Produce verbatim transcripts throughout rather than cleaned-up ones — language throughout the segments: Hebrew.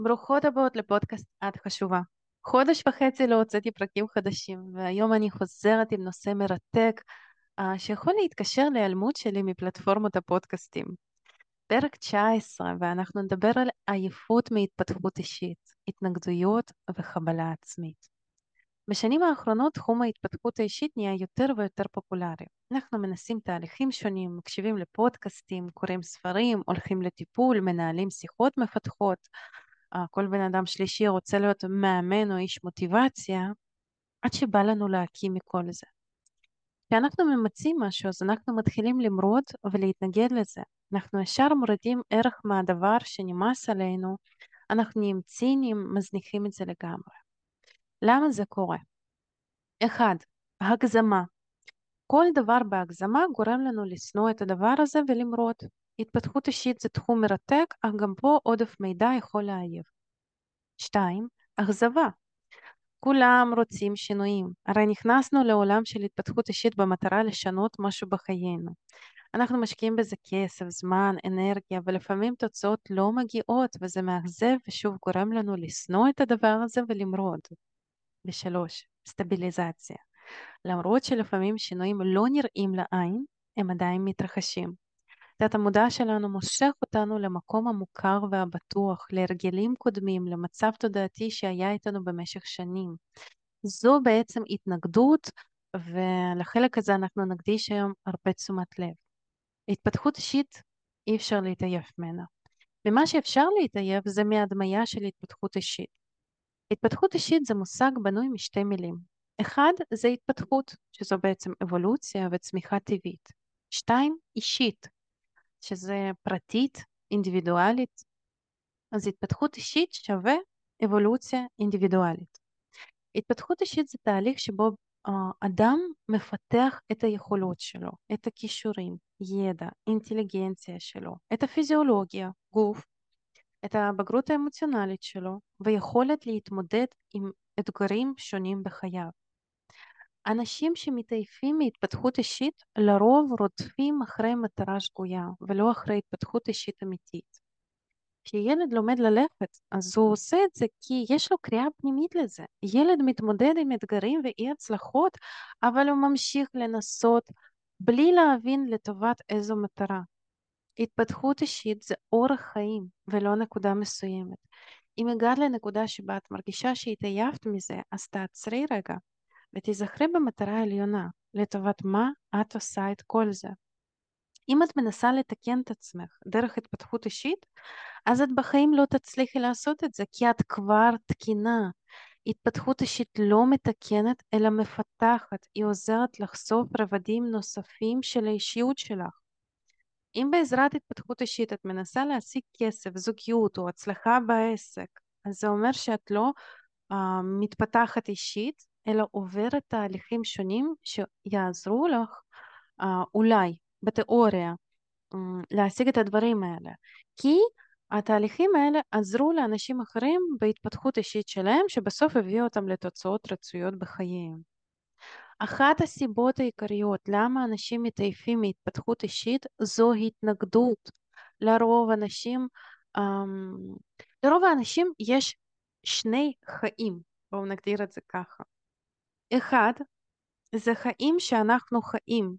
ברוכות הבאות לפודקאסט את חשובה. חודש וחצי לא הוצאתי פרקים חדשים, והיום אני חוזרת עם נושא מרתק, אה, שיכול להתקשר להיעלמות שלי מפלטפורמות הפודקאסטים. פרק תשע עשרה, ואנחנו נדבר על עייפות מהתפתחות אישית, התנגדויות וחבלה עצמית. בשנים האחרונות תחום ההתפתחות האישית נהיה יותר ויותר פופולרי. אנחנו מנסים תהליכים שונים, מקשיבים לפודקאסטים, קוראים ספרים, הולכים לטיפול, מנהלים שיחות מפתחות. אה, כל בן אדם שלישי רוצה להיות מאמן או איש מוטיבציה, עד שבא לנו להקים מכל זה. כשאנחנו ממצים משהו, אז אנחנו מתחילים למרוד ולהתנגד לזה. אנחנו ישר מורידים ערך מהדבר שנמאס עלינו, אנחנו נהיים ציניים, מזניחים את זה לגמרי. למה זה קורה? אחד, הגזמה. כל דבר בהגזמה גורם לנו לשנוא את הדבר הזה ולמרוד. התפתחות אישית זה תחום מרתק, אך גם פה עודף מידע יכול להעייף. שתיים, אכזבה. כולם רוצים שינויים. הרי נכנסנו לעולם של התפתחות אישית במטרה לשנות משהו בחיינו. אנחנו משקיעים בזה כסף, זמן, אנרגיה, ולפעמים תוצאות לא מגיעות, וזה מאכזב ושוב גורם לנו לשנוא את הדבר הזה ולמרוד. ושלוש, סטביליזציה. למרות שלפעמים שינויים לא נראים לעין, הם עדיין מתרחשים. תת המודע שלנו מושך אותנו למקום המוכר והבטוח, להרגלים קודמים, למצב תודעתי שהיה איתנו במשך שנים. זו בעצם התנגדות, ולחלק הזה אנחנו נקדיש היום הרבה תשומת לב. התפתחות אישית אי אפשר להתעייף ממנה. ומה שאפשר להתעייף זה מהדמיה של התפתחות אישית. התפתחות אישית זה מושג בנוי משתי מילים. אחד זה התפתחות, שזו בעצם אבולוציה וצמיחה טבעית. שתיים, אישית, שזה פרטית, אינדיבידואלית. אז התפתחות אישית שווה אבולוציה אינדיבידואלית. התפתחות אישית זה תהליך שבו uh, אדם מפתח את היכולות שלו, את הכישורים, ידע, אינטליגנציה שלו, את הפיזיולוגיה, גוף, את הבגרות האמוציונלית שלו, ויכולת להתמודד עם אתגרים שונים בחייו. אנשים שמתעייפים מהתפתחות אישית לרוב רודפים אחרי מטרה שגויה ולא אחרי התפתחות אישית אמיתית. כשילד לומד ללכת, אז הוא עושה את זה כי יש לו קריאה פנימית לזה. ילד מתמודד עם אתגרים ואי הצלחות, אבל הוא ממשיך לנסות בלי להבין לטובת איזו מטרה. התפתחות אישית זה אורח חיים ולא נקודה מסוימת. אם הגעת לנקודה שבה את מרגישה שהתעייפת מזה, אז תעצרי רגע ותזכרי במטרה העליונה, לטובת מה את עושה את כל זה. אם את מנסה לתקן את עצמך דרך התפתחות אישית, אז את בחיים לא תצליחי לעשות את זה, כי את כבר תקינה. התפתחות אישית לא מתקנת, אלא מפתחת. היא עוזרת לחשוף רבדים נוספים של האישיות שלך. אם בעזרת התפתחות אישית את מנסה להשיג כסף, זוגיות או הצלחה בעסק, אז זה אומר שאת לא uh, מתפתחת אישית, אלא עוברת תהליכים שונים שיעזרו לך uh, אולי בתיאוריה um, להשיג את הדברים האלה. כי התהליכים האלה עזרו לאנשים אחרים בהתפתחות אישית שלהם, שבסוף הביאו אותם לתוצאות רצויות בחייהם. אחת הסיבות העיקריות למה אנשים מתעייפים מהתפתחות אישית זו התנגדות. לרוב אנשים, אמ, לרוב האנשים יש שני חיים, בואו נגדיר את זה ככה. אחד, זה חיים שאנחנו חיים.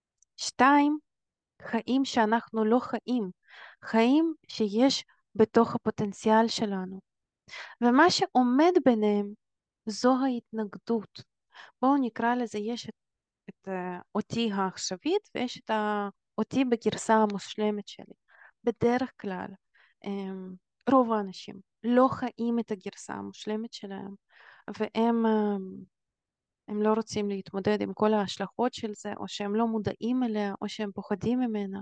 שתיים, חיים שאנחנו לא חיים. חיים שיש בתוך הפוטנציאל שלנו. ומה שעומד ביניהם זו ההתנגדות. בואו נקרא לזה, יש את, את uh, אותי העכשווית ויש את ה- אותי בגרסה המושלמת שלי. בדרך כלל, um, רוב האנשים לא חיים את הגרסה המושלמת שלהם, והם um, הם לא רוצים להתמודד עם כל ההשלכות של זה, או שהם לא מודעים אליה, או שהם פוחדים ממנה.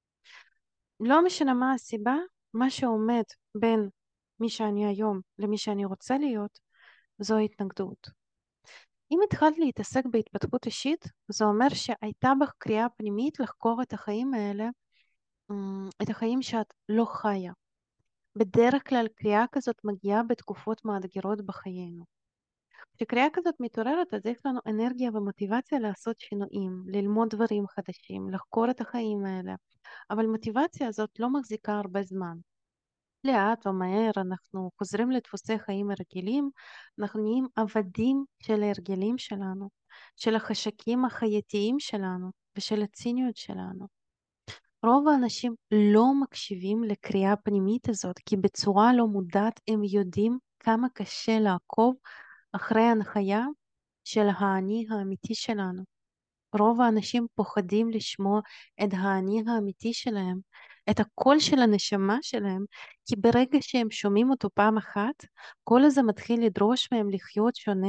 לא משנה מה הסיבה, מה שעומד בין מי שאני היום למי שאני רוצה להיות, זו התנגדות. אם התחלת להתעסק בהתפתחות אישית, זה אומר שהייתה בך קריאה פנימית לחקור את החיים האלה, אמ, את החיים שאת לא חיה. בדרך כלל קריאה כזאת מגיעה בתקופות מאתגרות בחיינו. כשקריאה כזאת מתעוררת, אז יש לנו אנרגיה ומוטיבציה לעשות שינויים, ללמוד דברים חדשים, לחקור את החיים האלה. אבל מוטיבציה הזאת לא מחזיקה הרבה זמן. לאט או מהר אנחנו חוזרים לדפוסי חיים הרגילים, אנחנו נהיים עבדים של ההרגלים שלנו, של החשקים החייתיים שלנו ושל הציניות שלנו. רוב האנשים לא מקשיבים לקריאה הפנימית הזאת, כי בצורה לא מודעת הם יודעים כמה קשה לעקוב אחרי ההנחיה של האני האמיתי שלנו. רוב האנשים פוחדים לשמוע את האני האמיתי שלהם, את הקול של הנשמה שלהם, כי ברגע שהם שומעים אותו פעם אחת, הקול הזה מתחיל לדרוש מהם לחיות שונה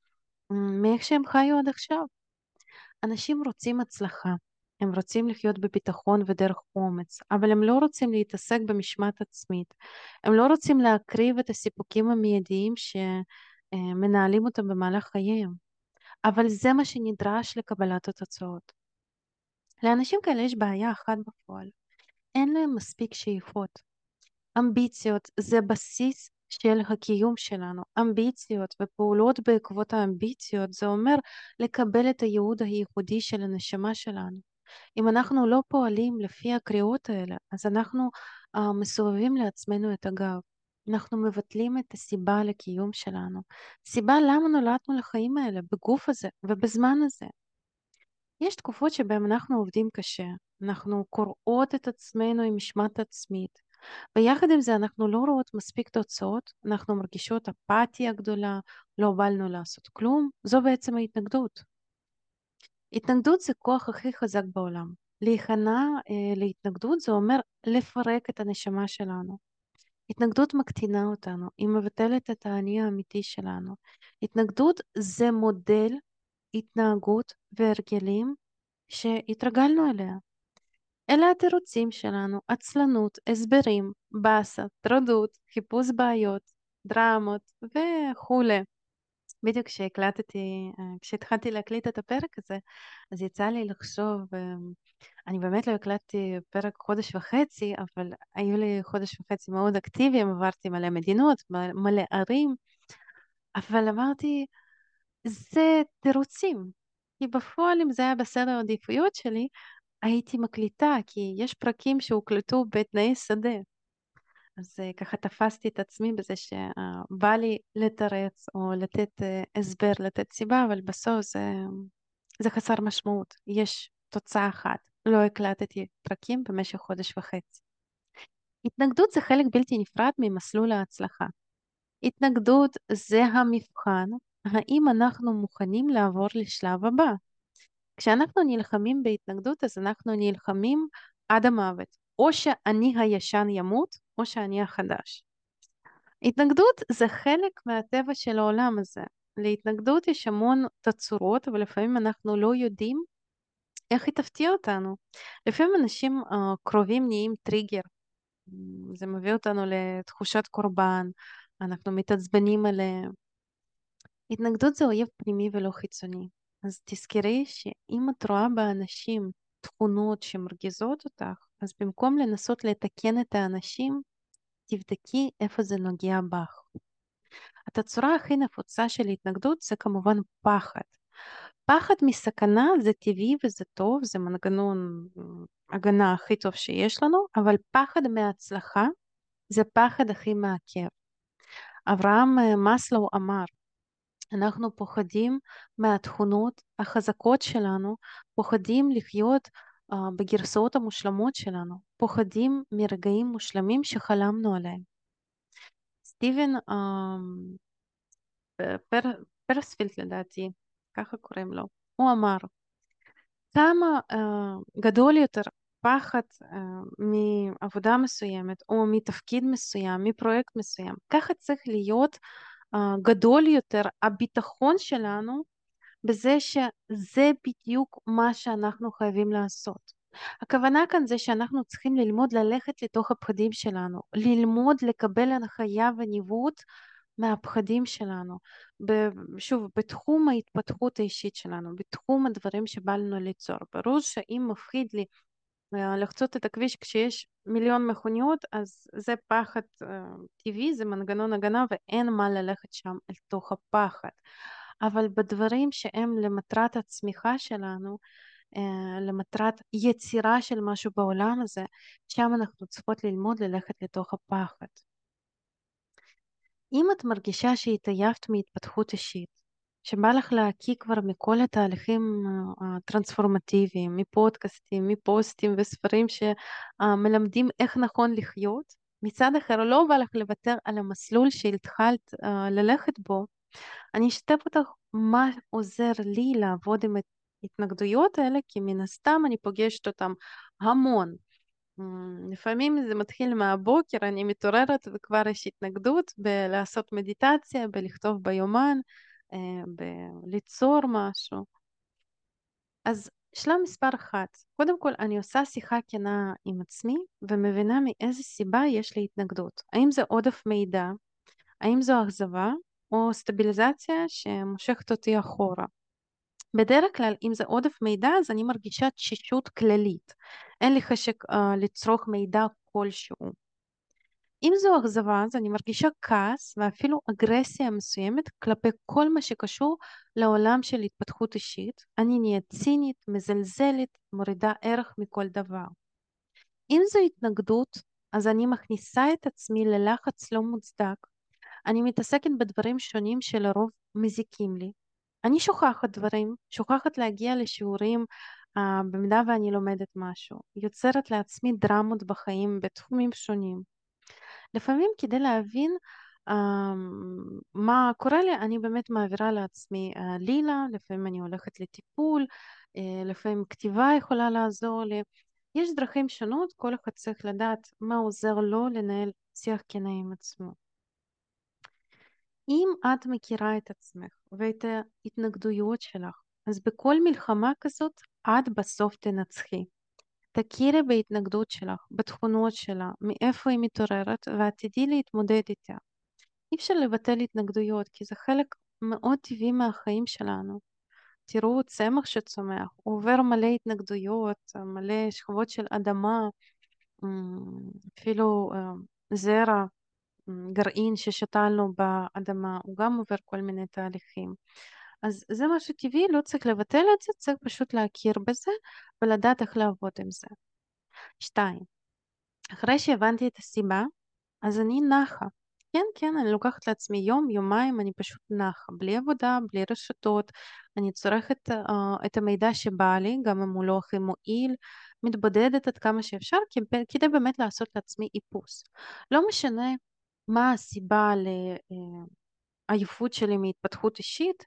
מ, מאיך שהם חיו עד עכשיו. אנשים רוצים הצלחה, הם רוצים לחיות בביטחון ודרך אומץ, אבל הם לא רוצים להתעסק במשמעת עצמית. הם לא רוצים להקריב את הסיפוקים המיידיים שמנהלים אותם במהלך חייהם. אבל זה מה שנדרש לקבלת התוצאות. לאנשים כאלה יש בעיה אחת בפועל, אין להם מספיק שאיפות. אמביציות זה בסיס של הקיום שלנו. אמביציות ופעולות בעקבות האמביציות זה אומר לקבל את הייעוד הייחודי של הנשמה שלנו. אם אנחנו לא פועלים לפי הקריאות האלה, אז אנחנו uh, מסובבים לעצמנו את הגב. אנחנו מבטלים את הסיבה לקיום שלנו. סיבה למה נולדנו לחיים האלה, בגוף הזה ובזמן הזה. יש תקופות שבהן אנחנו עובדים קשה, אנחנו קוראות את עצמנו עם משמעת עצמית, ויחד עם זה אנחנו לא רואות מספיק תוצאות, אנחנו מרגישות אפתיה גדולה, לא באנו לעשות כלום, זו בעצם ההתנגדות. התנגדות זה כוח הכי חזק בעולם. להיכנע אה, להתנגדות זה אומר לפרק את הנשמה שלנו. התנגדות מקטינה אותנו, היא מבטלת את האני האמיתי שלנו. התנגדות זה מודל התנהגות והרגלים שהתרגלנו אליה. אלה התירוצים שלנו, עצלנות, הסברים, באסה, טרדות, חיפוש בעיות, דרמות וכולי. בדיוק כשהקלטתי, אה, כשהתחלתי להקליט את הפרק הזה, אז יצא לי לחשוב, אה, אני באמת לא הקלטתי פרק חודש וחצי, אבל היו לי חודש וחצי מאוד אקטיביים, עברתי מלא מדינות, מ- מלא ערים, אבל אמרתי, זה תירוצים. כי בפועל, אם זה היה בסדר העדיפויות שלי, הייתי מקליטה, כי יש פרקים שהוקלטו בתנאי שדה. אז אה, ככה תפסתי את עצמי בזה שבא לי לתרץ או לתת אה, הסבר, לתת סיבה, אבל בסוף זה, זה חסר משמעות. יש תוצאה אחת. לא הקלטתי פרקים במשך חודש וחצי. התנגדות זה חלק בלתי נפרד ממסלול ההצלחה. התנגדות זה המבחן, האם אנחנו מוכנים לעבור לשלב הבא. כשאנחנו נלחמים בהתנגדות, אז אנחנו נלחמים עד המוות. או שאני הישן ימות, או שאני החדש. התנגדות זה חלק מהטבע של העולם הזה. להתנגדות יש המון תצורות, אבל לפעמים אנחנו לא יודעים איך היא תפתיע אותנו. לפעמים אנשים uh, קרובים נהיים טריגר. זה מביא אותנו לתחושת קורבן, אנחנו מתעצבנים עליהם. התנגדות זה אויב פנימי ולא חיצוני. אז תזכרי שאם את רואה באנשים תכונות שמרגיזות אותך, אז במקום לנסות לתקן את האנשים, תבדקי איפה זה נוגע בך. התצורה הכי נפוצה של התנגדות זה כמובן פחד. פחד מסכנה זה טבעי וזה טוב, זה מנגנון אה, הגנה הכי טוב שיש לנו, אבל פחד מהצלחה זה פחד הכי מעכב. אברהם אה, מאסלו אמר, אנחנו פוחדים מהתכונות החזקות שלנו, פוחדים לחיות uh, בגרסאות המושלמות שלנו, פוחדים מרגעים מושלמים שחלמנו עליהם. סטיבן uh, פר, פרספילד לדעתי, ככה קוראים לו, הוא אמר, כמה uh, גדול יותר פחד uh, מעבודה מסוימת או מתפקיד מסוים, מפרויקט מסוים, ככה צריך להיות uh, גדול יותר הביטחון שלנו בזה שזה בדיוק מה שאנחנו חייבים לעשות. הכוונה כאן זה שאנחנו צריכים ללמוד ללכת לתוך הפחדים שלנו, ללמוד לקבל הנחיה וניווט מהפחדים שלנו. ב- שוב, בתחום ההתפתחות האישית שלנו, בתחום הדברים שבא לנו ליצור. ברור שאם מפחיד לי אה, לחצות את הכביש כשיש מיליון מכוניות, אז זה פחד אה, טבעי, זה מנגנון הגנה ואין מה ללכת שם אל תוך הפחד. אבל בדברים שהם למטרת הצמיחה שלנו, אה, למטרת יצירה של משהו בעולם הזה, שם אנחנו צריכות ללמוד ללכת לתוך הפחד. אם את מרגישה שהתעייפת מהתפתחות אישית, שבא לך להקיא כבר מכל התהליכים אה, הטרנספורמטיביים, מפודקאסטים, מפוסטים וספרים שמלמדים איך נכון לחיות, מצד אחר לא בא לך לוותר על המסלול שהתחלת אה, ללכת בו, אני אשתף אותך מה עוזר לי לעבוד עם ההתנגדויות האלה, כי מן הסתם אני פוגשת אותם המון. אמ, לפעמים זה מתחיל מהבוקר, אני מתעוררת וכבר יש התנגדות בלעשות מדיטציה, בלכתוב ביומן, אה, בליצור משהו. אז שלב מספר אחת, קודם כל אני עושה שיחה כנה עם עצמי ומבינה מאיזה סיבה יש לי התנגדות. האם זה עודף מידע, האם זו אכזבה או סטביליזציה שמושכת אותי אחורה. בדרך כלל אם זה עודף מידע אז אני מרגישה תשישות כללית, אין לי חשק uh, לצרוך מידע כלשהו. אם זו אכזבה אז אני מרגישה כעס ואפילו אגרסיה מסוימת כלפי כל מה שקשור לעולם של התפתחות אישית, אני נהיית צינית, מזלזלת, מורידה ערך מכל דבר. אם זו התנגדות אז אני מכניסה את עצמי ללחץ לא מוצדק, אני מתעסקת בדברים שונים שלרוב מזיקים לי. אני שוכחת דברים, שוכחת להגיע לשיעורים uh, במידה ואני לומדת משהו, יוצרת לעצמי דרמות בחיים בתחומים שונים. לפעמים כדי להבין uh, מה קורה לי, אני באמת מעבירה לעצמי uh, לילה, לפעמים אני הולכת לטיפול, uh, לפעמים כתיבה יכולה לעזור לי. יש דרכים שונות, כל אחד צריך לדעת מה עוזר לו לנהל שיח כנה עם עצמו. אם את מכירה את עצמך ואת ההתנגדויות שלך, אז בכל מלחמה כזאת את בסוף תנצחי. תכירי בהתנגדות שלך, בתכונות שלה, מאיפה היא מתעוררת, ואת תדעי להתמודד איתה. אי אפשר לבטל התנגדויות, כי זה חלק מאוד טבעי מהחיים שלנו. תראו צמח שצומח, הוא עובר מלא התנגדויות, מלא שכבות של אדמה, אפילו זרע. גרעין ששתלנו באדמה, הוא גם עובר כל מיני תהליכים. אז זה משהו טבעי, לא צריך לבטל את זה, צריך פשוט להכיר בזה ולדעת איך לעבוד עם זה. שתיים, אחרי שהבנתי את הסיבה, אז אני נחה. כן, כן, אני לוקחת לעצמי יום, יומיים, אני פשוט נחה, בלי עבודה, בלי רשתות, אני צורכת uh, את המידע שבא לי, גם אם הוא לא הכי מועיל, מתבודדת עד כמה שאפשר, כדי באמת לעשות לעצמי איפוס. לא משנה מה הסיבה לעייפות שלי מהתפתחות אישית,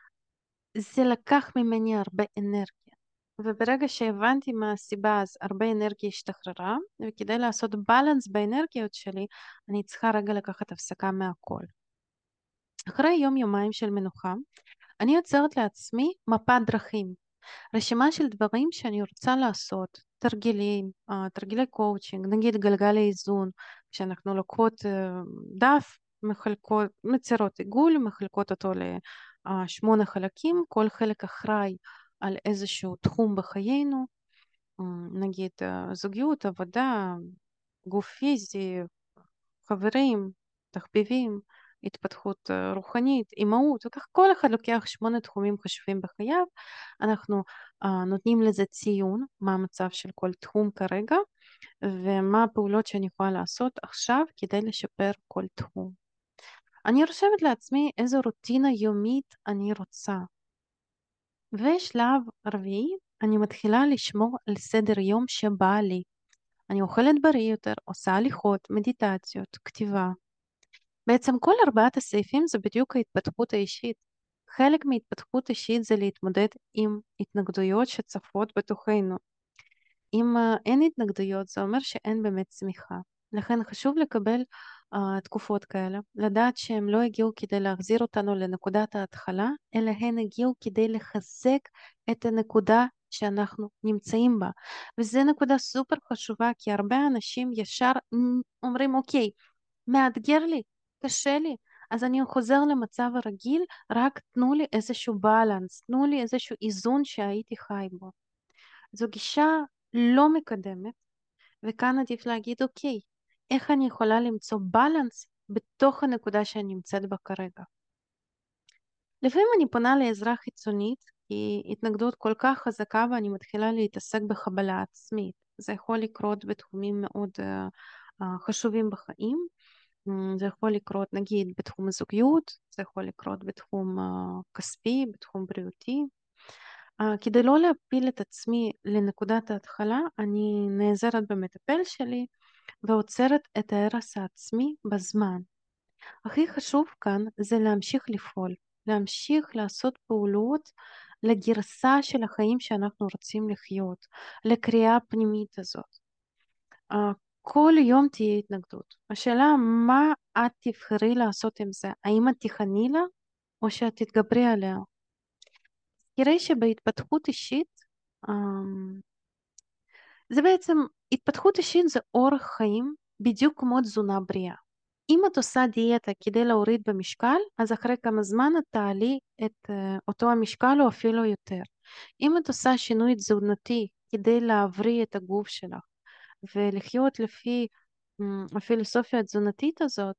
זה לקח ממני הרבה אנרגיה. וברגע שהבנתי מה הסיבה, אז הרבה אנרגיה השתחררה, וכדי לעשות בלנס באנרגיות שלי, אני צריכה רגע לקחת הפסקה מהכל. אחרי יום יומיים של מנוחה, אני יוצרת לעצמי מפת דרכים, רשימה של דברים שאני רוצה לעשות, תרגילים, אה, תרגילי קואוצ'ינג, נגיד גלגל האיזון, כשאנחנו לוקחות אה, דף, מחלקות, מצירות עיגול, מחלקות אותו לשמונה חלקים, כל חלק אחראי על איזשהו תחום בחיינו, אה, נגיד אה, זוגיות, עבודה, גוף פיזי, חברים, תחביבים, התפתחות אה, רוחנית, אימהות, וכך כל אחד לוקח שמונה תחומים חשובים בחייו, אנחנו uh, נותנים לזה ציון, מה המצב של כל תחום כרגע, ומה הפעולות שאני יכולה לעשות עכשיו כדי לשפר כל תחום. אני רושמת לעצמי איזו רוטינה יומית אני רוצה. ושלב רביעי, אני מתחילה לשמור על סדר יום שבא לי. אני אוכלת בריא יותר, עושה הליכות, מדיטציות, כתיבה. בעצם כל ארבעת הסעיפים זה בדיוק ההתפתחות האישית. חלק מהתפתחות אישית זה להתמודד עם התנגדויות שצפות בתוכנו. אם uh, אין התנגדויות זה אומר שאין באמת צמיחה. לכן חשוב לקבל uh, תקופות כאלה, לדעת שהם לא הגיעו כדי להחזיר אותנו לנקודת ההתחלה, אלא הן הגיעו כדי לחזק את הנקודה שאנחנו נמצאים בה. וזו נקודה סופר חשובה, כי הרבה אנשים ישר אומרים, אוקיי, מאתגר לי, קשה לי, אז אני חוזר למצב הרגיל, רק תנו לי איזשהו בלנס, תנו לי איזשהו איזון שהייתי חי בו. זו גישה לא מקדמת, וכאן עדיף להגיד, אוקיי, איך אני יכולה למצוא בלנס בתוך הנקודה שאני נמצאת בה כרגע. לפעמים אני פונה לעזרה חיצונית, כי התנגדות כל כך חזקה ואני מתחילה להתעסק בחבלה עצמית. זה יכול לקרות בתחומים מאוד uh, uh, חשובים בחיים. אמ, זה יכול לקרות נגיד בתחום הזוגיות, זה יכול לקרות בתחום אה, כספי, בתחום בריאותי. אה, כדי לא להפיל את עצמי לנקודת ההתחלה, אני נעזרת במטפל שלי ועוצרת את ההרס העצמי בזמן. הכי חשוב כאן זה להמשיך לפעול, להמשיך לעשות פעולות לגרסה של החיים שאנחנו רוצים לחיות, לקריאה הפנימית הזאת. אה, כל יום תהיה התנגדות. השאלה מה את תבחרי לעשות עם זה, האם את תיכני לה או שאת תתגברי עליה. תראי שבהתפתחות אישית, אמ, זה בעצם, התפתחות אישית זה אורח חיים בדיוק כמו תזונה בריאה. אם את עושה דיאטה כדי להוריד במשקל, אז אחרי כמה זמן את תעלי את אה, אותו המשקל או אפילו יותר. אם את עושה שינוי תזונתי כדי להבריא את הגוף שלך ולחיות לפי אמ, הפילוסופיה התזונתית הזאת,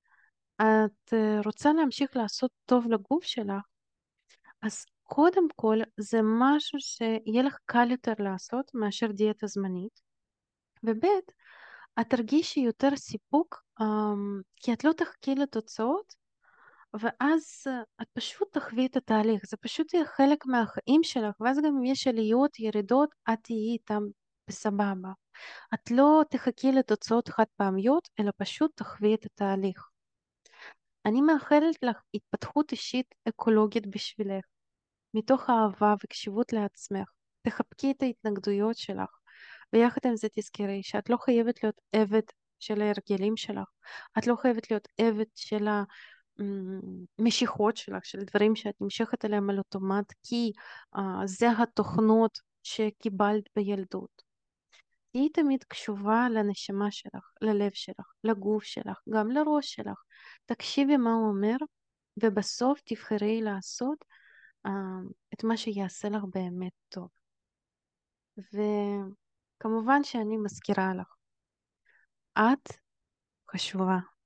את אה, רוצה להמשיך לעשות טוב לגוף שלך, אז קודם כל זה משהו שיהיה לך קל יותר לעשות מאשר דיאטה זמנית, וב' את תרגישי יותר סיפוק, אמ, כי את לא תחכי לתוצאות, ואז אה, את פשוט תחווי את התהליך, זה פשוט יהיה חלק מהחיים שלך, ואז גם אם יש עליות, ירידות, את תהיי איתם בסבבה. את לא תחכי לתוצאות חד פעמיות, אלא פשוט תחווי את התהליך. אני מאחלת לך התפתחות אישית אקולוגית בשבילך, מתוך אהבה וקשיבות לעצמך. תחבקי את ההתנגדויות שלך, ויחד עם זה תזכרי שאת לא חייבת להיות עבד של ההרגלים שלך. את לא חייבת להיות עבד של המשיכות שלך, של דברים שאת נמשכת אליהם על אוטומט, כי uh, זה התוכנות שקיבלת בילדות. תהיי תמיד קשובה לנשמה שלך, ללב שלך, לגוף שלך, גם לראש שלך. תקשיבי מה הוא אומר, ובסוף תבחרי לעשות אה, את מה שיעשה לך באמת טוב. וכמובן שאני מזכירה לך, את חשובה.